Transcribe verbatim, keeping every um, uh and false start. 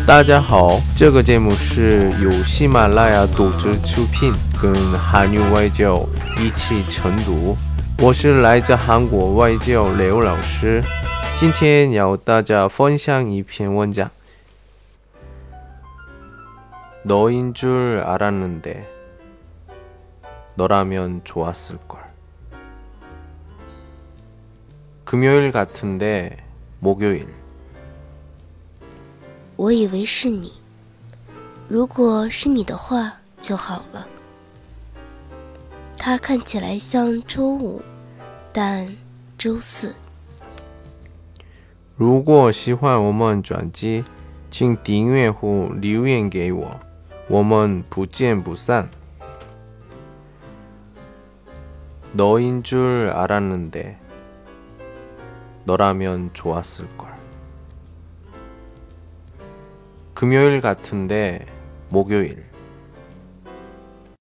大家好，这个节目是由喜马拉雅独自出品，跟韩语外教一起晨读。我是来自韩国外教刘老师，今天要大家分享一篇文章。너인 줄 알았는데 너라면 좋았을걸. 금요일 같은데 목요일. 我以为是你，如果是你的话就好了。它看起来像周五，但周四。 如果喜欢我们专辑，请订阅后留言给我，我们不见不散。너인 줄 알았는데 너라면 좋았을걸. 금요일 같은데 목요일.